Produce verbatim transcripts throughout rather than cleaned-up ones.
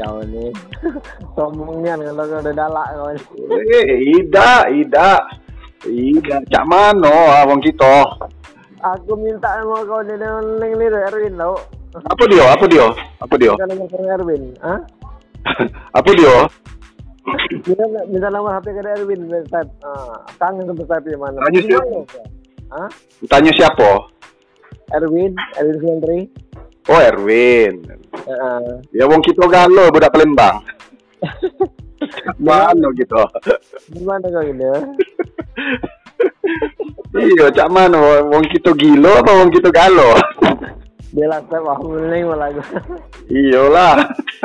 kau nih. Sombongnya kalau kau udah dalak kau nih. Eh, ida, ida. Ida, cak mano ah wong kita. Aku minta sama kau di neng ni Erwin tau. Apa dia? Apa dia? Apa dia? Minta nomor Erwin, ah? Apa dia? Minta minta nomor H P ke Erwin, Ustaz. Ah, kangen ke Ustaz di mana? Tanya siapa? Hah? Tanya siapa? Erwin, Erwin Sentri. Oh, Erwin. Heeh. Ya wong kita galo budak Palembang. Mano gitu. Gimana kau ini? Iya, cak mana wong kita gilo apa wong kita galo? Jelas saya paham ini malah gue. Iyalah.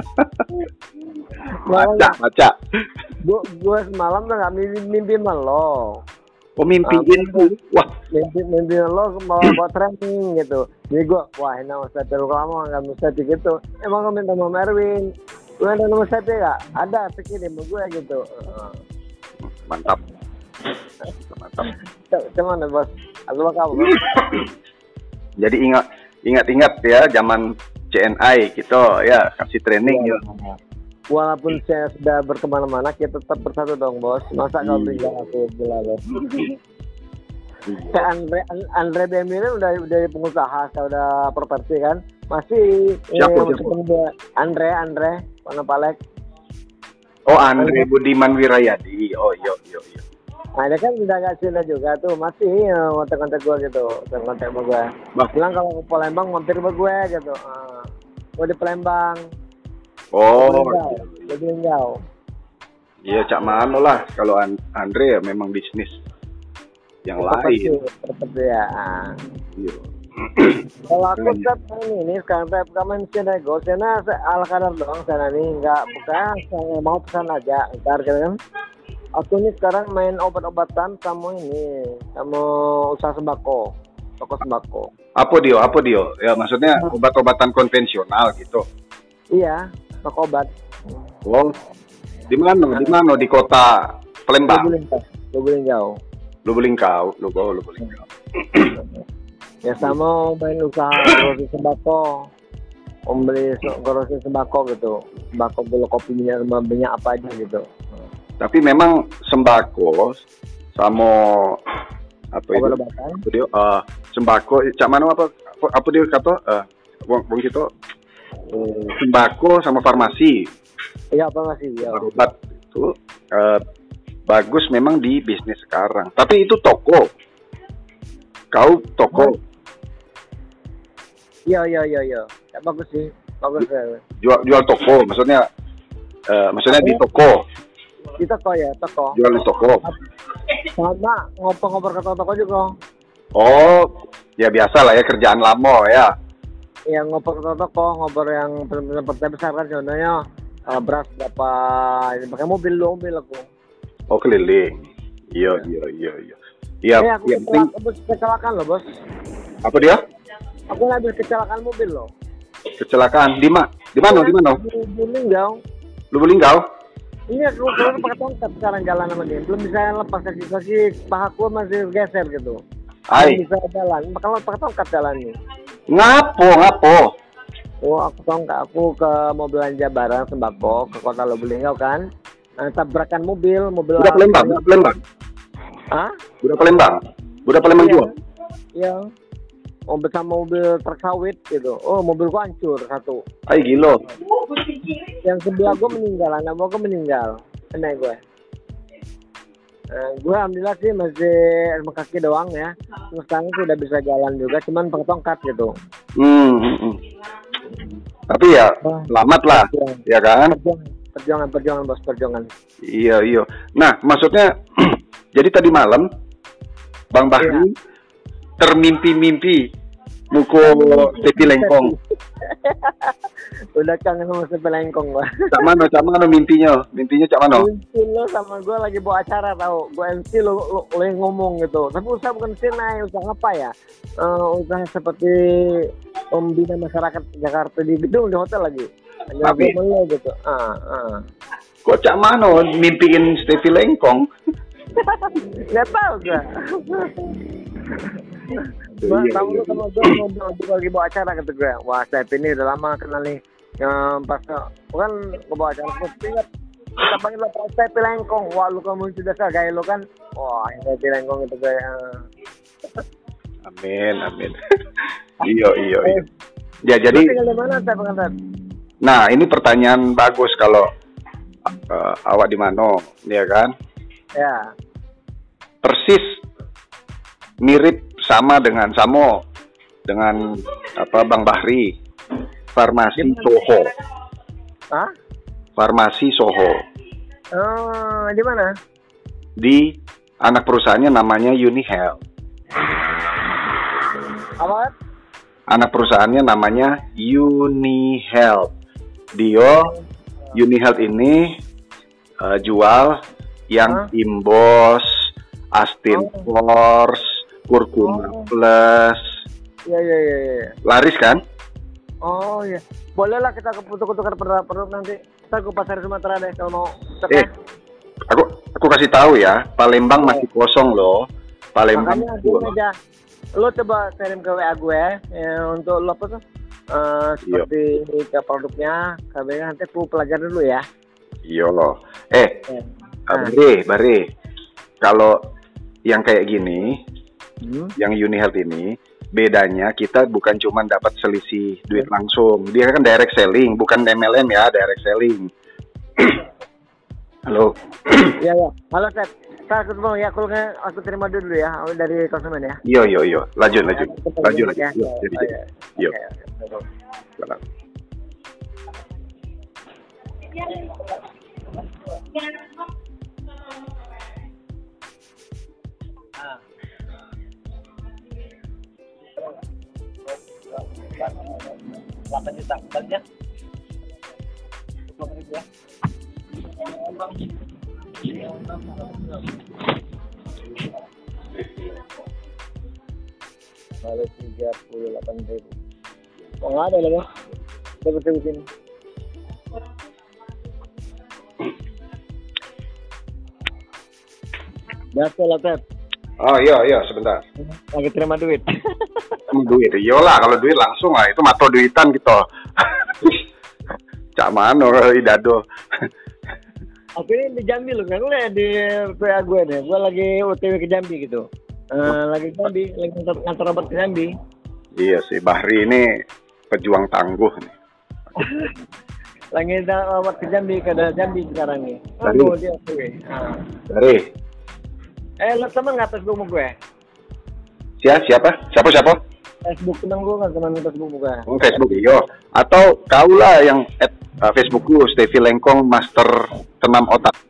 Baca, baca. Gue gue semalam tuh nggak mimpi mimpi lo. Oh mimpiin tuh. Wah, mimpi mimpi lo mau buat training gitu. Jadi gue wah ini Ustaz terlalu lama nggak Ustaz gitu. Emang gue minta sama Erwin. Gue ada nomor Ustaz ya? Ada, pikirin sama gue gitu. mantap. Mantap. Cuman bos, aku bakal bos. Jadi ingat ingat-ingat ya zaman C N I gitu ya kasih training ya. Walaupun saya sudah berkemana-mana, kita tetap bersatu dong bos. Masa kau tinggal aku gila bos. Kayak Andre Andre B M ini udah udah pengusaha, udah properti kan. Masih siapa, eh, siapa? Andre Andre mana Palek. Oh Andre Budiman Wirayadi. Oh iya iya iya. Nah dia kan udah gak Cina juga tuh, masih ya, kontak-kontak gue gitu, kontak-kontak sama gue. Bilang kalau ke Palembang mampir sama gue gitu. Uh, gue di Palembang. Oh. Jadi enggak. Iya cak mana lah kalau Andre ya memang bisnis yang lain. Seperti ya. Iya. Kalau aku tetap ini, ini sekarang saya main Cina Go, Cina ala kadar doang sana nih, nggak bukan saya mau pesan aja, ntar kan. Aku ini sekarang main obat-obatan sama ini, sama usaha sembako, toko sembako. Apa dia? Apa dia? Ya maksudnya obat-obatan konvensional gitu. Iya, toko obat. Wow. Di mana? Di mana? Di kota Palembang. Lubulingau. Lubulingau, Lubulingau, Lubulingau. Ya sama main usaha grosis sembako, membeli grosis sembako gitu, sembako gula kopi minyak minyak apa aja gitu. Tapi memang sembako sama apa itu? Apa dia? Uh, sembako, cak mana apa? Apa, apa dia kata? Uh, wong wong gitu. Uh, sembako sama farmasi. Iya farmasi. Ya. Obat itu uh, bagus memang di bisnis sekarang. Tapi itu toko. Kau toko. Iya iya iya iya. Ya, bagus sih. Bagus ya. Jual jual toko, maksudnya uh, maksudnya di toko. Di toko ya, toko. Jual di toko. Sama ngoper-ngoper ke toko juga. Oh, ya biasa lah ya kerjaan lama ya. Yang ngoper ke toko, ngoper yang benar-benar besar kan contohnya uh, beras berapa, ini pakai mobil dua mobil aku. Oh keliling. Iya iya iya iya. Iya. Eh, aku ya, kecelakaan, kecelakaan loh bos. Apa dia? Aku habis kecelakaan mobil loh. Kecelakaan di mana? Di mana? Di mana? Di Lubulingau. Lubulingau? Ini aku baru pakai tongkat sekarang jalan sama dia. Belum bisa lepas kaki-kaki, pahaku masih geser gitu. Hai. Belum bisa jalan. Kalau pakai tongkat jalannya. Ngapo, ngapo? Oh, aku tongkat. Aku ke mau belanja barang sembako ke kota Lubulingau kan. Nah, tabrakan mobil, mobil. Udah Palembang, udah Palembang. Hah? Udah Palembang. Udah Palembang Iya. juga. Iya. Oh, bersama mobil truk sawit gitu. Oh, mobilku hancur satu. Hai gilo. Yang sebelah gue meninggal, anak gue meninggal. Kena gue. Nah, gue alhamdulillah sih masih sama kaki doang ya. Terus sekarang sudah bisa jalan juga, cuman pakai tongkat gitu. Hmm, hmm, hmm. Tapi ya Wah, selamat lah, perjuangan. ya kan? Perjuangan, perjuangan, perjuangan bos, perjuangan. Iya iya. Nah maksudnya, jadi tadi malam Bang Bahri iya. termimpi-mimpi mukul tepi lengkong. Udah kangen sama tepi lengkong gua. Cak mano, cak mano mimpinya, mimpinya cak mano. Mimpi lo sama gua lagi bawa acara tau, gua M C lo, lo, lo yang ngomong gitu. Tapi usaha bukan sini, usaha apa ya? Uh, usaha seperti pembina masyarakat Jakarta di gedung di hotel lagi. Tapi lo gitu. Ah, ah. Kok cak mano mimpiin tepi lengkong? Gak tau gua. Bang, tahu lu sama gue ngobrol lagi bawa acara gitu gue. Wah, saya ini udah lama kenal nih. Yang pas kan kebawa jalan putih kan. Kita panggil lo Pak Pilengkong. Wah lu kamu sudah gaya lo kan. Wah ini Pilengkong itu gaya. Amin, amin. Iyo, iyo, iyo. Ya jadi. Tinggal di mana saya pengantar? Nah ini pertanyaan bagus kalau uh, awak di mana, ya kan? Ya. Persis mirip sama dengan Samo dengan apa Bang Bahri, farmasi Soho. Hah? Farmasi Soho. Oh, di mana? Di anak perusahaannya namanya UniHealth. Apa? Anak perusahaannya namanya UniHealth. Dio UniHealth ini uh, jual yang Hah? Imbos, Astin Oh. Force, Kurkuma Oh. Plus. Iya iya iya. Ya. Laris kan? Oh iya. Bolehlah kita keputar-putar produk nanti. Kita ke pasar Sumatera deh kalau mau. Eh, aku aku kasih tahu ya, Palembang masih kosong loh. Palembang. Makanya gini aja. Lo coba kirim ke W A gue ya, untuk lo apa tuh? Uh, seperti ke produknya, kabelnya nanti aku pelajari dulu ya. Iya loh. Eh, Ya. nah. Bare, Bare. Kalau yang kayak gini, Hmm. yang UniHealth ini, bedanya kita bukan cuma dapat selisih duit langsung. Dia kan direct selling, bukan M L M ya, direct selling. Halo. Iya ya. Halo Seth. Saya aku mau ya, aku aku terima dulu ya dari konsumen ya. Iyo, iyo, iyo. Lanjut, lanjut. Lanjut, lanjut. Ya. Yo, jadi, Oh, jadi. ya. Yo. Oke, oke. Salam. delapan juta banyak. Ya. Kalau tiga puluh delapan ribu. Oh nggak ada lah bang. Dapat di sini. Biasa lah Pep. Oh iya, iya, sebentar. Lagi terima duit. Kamu duit, iyalah kalau duit langsung lah, itu mato duitan gitu. Cak mano kalau idado. Aku ini di Jambi loh, kan lihat di W A gue deh. Gue lagi O T W ke Jambi gitu. Uh, lagi Jambi, lagi ngantar, ngantar obat ke Jambi. Iya sih, Bahri ini pejuang tangguh nih. Lagi ngantar obat ke Jambi, ke daerah Jambi sekarang nih. Dari? Oh, dia O T W. Nah. Dari Eh, lo temen nggak Facebook gue? siapa siapa? Siapa siapa? Facebook temen gue nggak temen Facebook gue. Oh, Facebook iyo. Atau kaulah yang at uh, Facebookku Stevie Lengkong Master Senam Otak.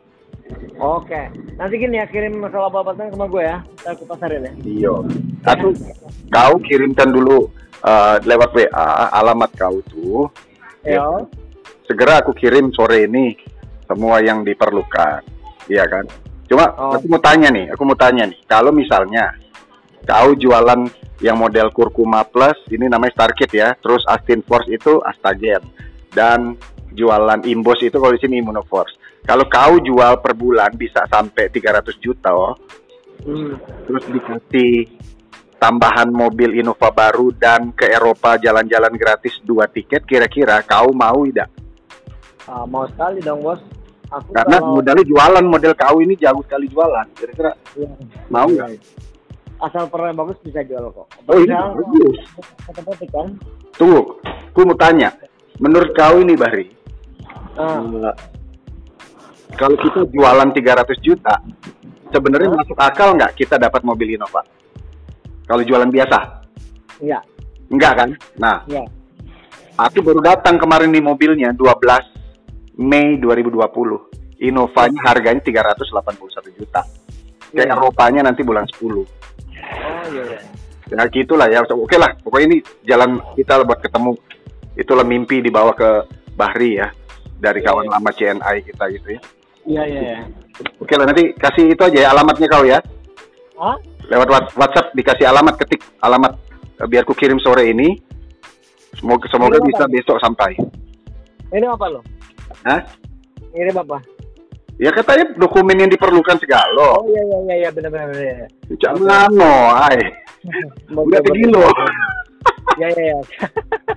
Oke, nanti gini ya, kirim masalah obatnya sama gue ya. Saya ke pasarin ya. Iyo. Atau kau kirimkan dulu uh, lewat W A alamat kau tuh. Yo. Segera aku kirim sore ini semua yang diperlukan. Iya kan? Cuma Oh. aku mau tanya nih, aku mau tanya nih. Kalau misalnya kau jualan yang model Kurkuma Plus, ini namanya Starkit ya. Terus Astin Force itu Astagen. Dan jualan Imbos itu kalau di sini Immunoforce. Kalau kau jual per bulan bisa sampai tiga ratus juta oh. Hmm. Terus dikasih tambahan mobil Innova baru dan ke Eropa jalan-jalan gratis dua tiket, kira-kira kau mau tidak? Ah, mau sekali dong bos. Aku Karena kalau... modalnya jualan, model kau ini jago sekali jualan. Kira-kira Ya. mau nggak? Asal peran bagus bisa jual kok. Oh iya, bagus. Kata-kata kan. Tunggu, aku mau tanya. Menurut kau ini Bahri, Ah. uh, kalau kita jualan tiga ratus juta, sebenarnya Hah? masuk akal nggak kita dapat mobil Innova? Kalau jualan biasa? Iya. Enggak kan? Nah, Iya. aku baru datang kemarin nih mobilnya dua belas Mei dua ribu dua puluh. Innovanya harganya tiga ratus delapan puluh satu juta. Ke Iya. Eropanya nanti bulan sepuluh. Oh iya. Iya. Ya gitulah ya. Oke lah, pokoknya ini jalan kita buat ketemu. Itulah mimpi dibawa ke Bahri ya. Dari kawan lama C N I kita gitu ya. Iya iya. iya. Oke lah, nanti kasih itu aja ya alamatnya kau ya. Hah? Lewat WhatsApp dikasih alamat, ketik alamat eh, biar ku kirim sore ini. Semoga semoga Ini bisa apa? besok sampai. Ini apa lo? Hah? Ini apa? Ya katanya dokumen yang diperlukan segala. Oh iya iya iya iya benar benar benar. Jangan no, ay. Udah begini loh. Ya ya ya.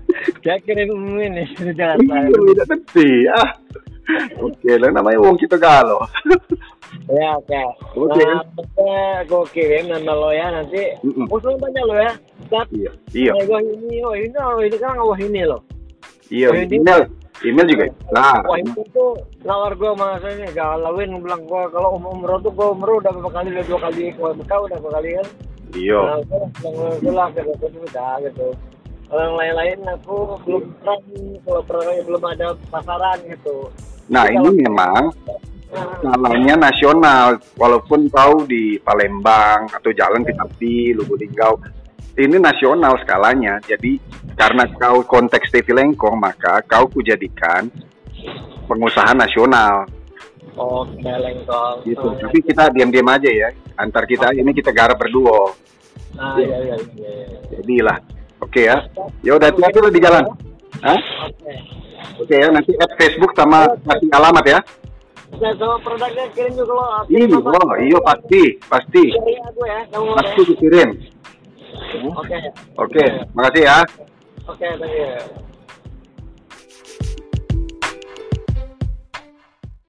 Kayak kirim ini di Jakarta. Iya, tidak tentu ya. Oke, lah namanya wong kita galo. Ya, oke. Oke. Nah, aku kirim nama lo ya nanti. Mm-mm. Musuh banyak lo ya. Sat. Iya. Iya. Wah ini, oh ini, oh ini kan wah ini lo. Iya, email. Email juga. Nah, Wah itu tuh nawar gue sama saya nih galauin bilang gue kalau um umroh tuh gue umroh udah berapa kali udah dua kali kalau bekau udah berapa kali kan. iya. Nah, gue lah gitu udah gitu. Kalau yang lain-lain aku belum pernah kalau pernah belum ada pasaran gitu. Nah, ini memang skalanya nasional, walaupun kau di Palembang atau Jalan Ketapi, Lubuk Linggau, ini nasional skalanya. Jadi karena kau konteks T V Lengkong, maka kau kujadikan pengusaha nasional. Oke, Lengkong. Gitu. Tapi kita diam-diam aja ya. Antar kita ini kita garap berdua. Ah iya iya iya. Jadilah. Oke ya. Ya udah hati-hati lo di jalan. Hah? Oke. Oke ya, nanti add Facebook sama kasih alamat ya. Oke, sama produknya kirim juga lo. Iya, oh, iya pasti, pasti. Kirim aku ya, kamu Pasti dikirim. Oke. Oke, makasih ya. Oke, thank you.